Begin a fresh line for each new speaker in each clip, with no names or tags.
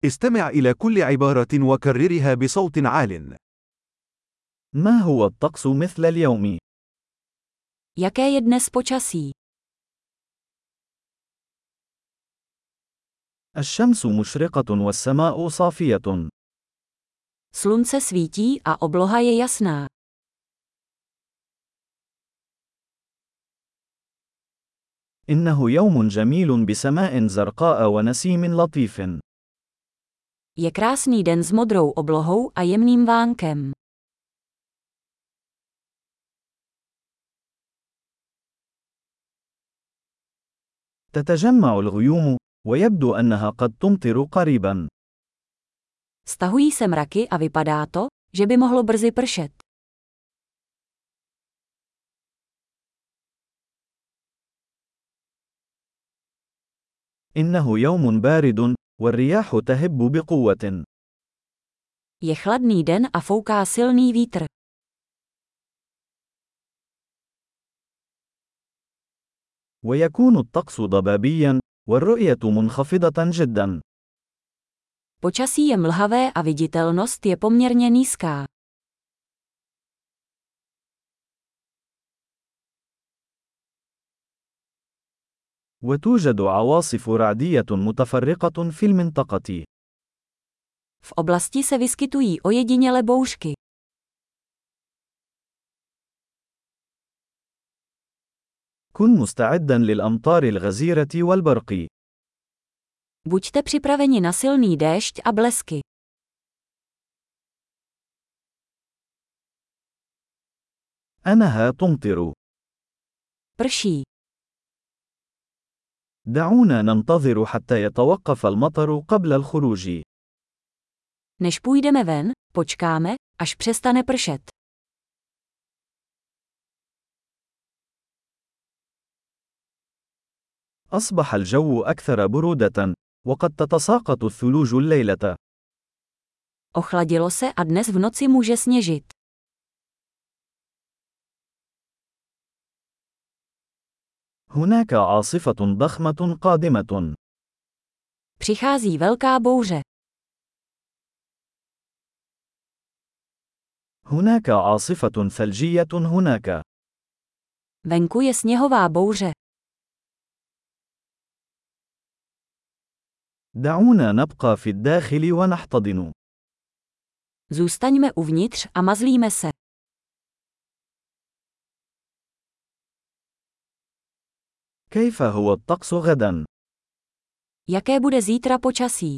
استمع إلى كل عبارة وكررها بصوت عال.
ما هو الطقس مثل اليوم؟
Jaké je dnes počasí?
الشمس مشرقة والسماء صافية.
Slunce svítí a obloha je jasná.
إنه يوم جميل بسماء زرقاء ونسيم لطيف.
Je krásný den s modrou oblohou a jemným vánkem.
تتجمع الغيوم، ويبدو أنها قد تمطر قريبا.
Stahují se mraky a vypadá to, že by mohlo brzy pršet.
إنه يوم بارد، والرياح تهب بقوة.
Je chladný den a fouká silný vítr.
ويكون الطقس ضبابيا، والرؤية منخفضة جدا.
Počasí je mlhavé a viditelnost je poměrně nízká.
وتوجد عواصف رعدية متفرقة في المنطقة.
V oblasti se vyskytují ojediněle bouřky.
كن مستعدا للأمطار الغزيرة والبرق.
Buďte připraveni na silný déšť a blesky.
أنها تمطر.
Prší.
دعونا ننتظر حتى يتوقف المطر قبل الخروج.
Než půjdeme ven, počkáme, až přestane pršet.
أصبح الجو أكثر برودة، وقد تتساقط الثلوج الليلة.
Ochladilo se a dnes v noci může sněžit.
هناك عاصفة ضخمة قادمة.
Přichází velká bouře.
هناك عاصفة ثلجية هناك.
Venku je sněhová bouře.
دعونا نبقى في الداخل ونحتضن.
Zůstaňme uvnitř a mazlíme se.
كيف هو الطقس غدا؟
Jaké bude zítra počasí?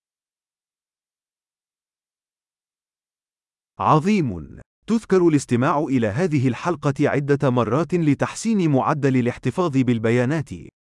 عظيم. تذكر الاستماع إلى هذه الحلقة عدة مرات لتحسين معدل الاحتفاظ بالبيانات.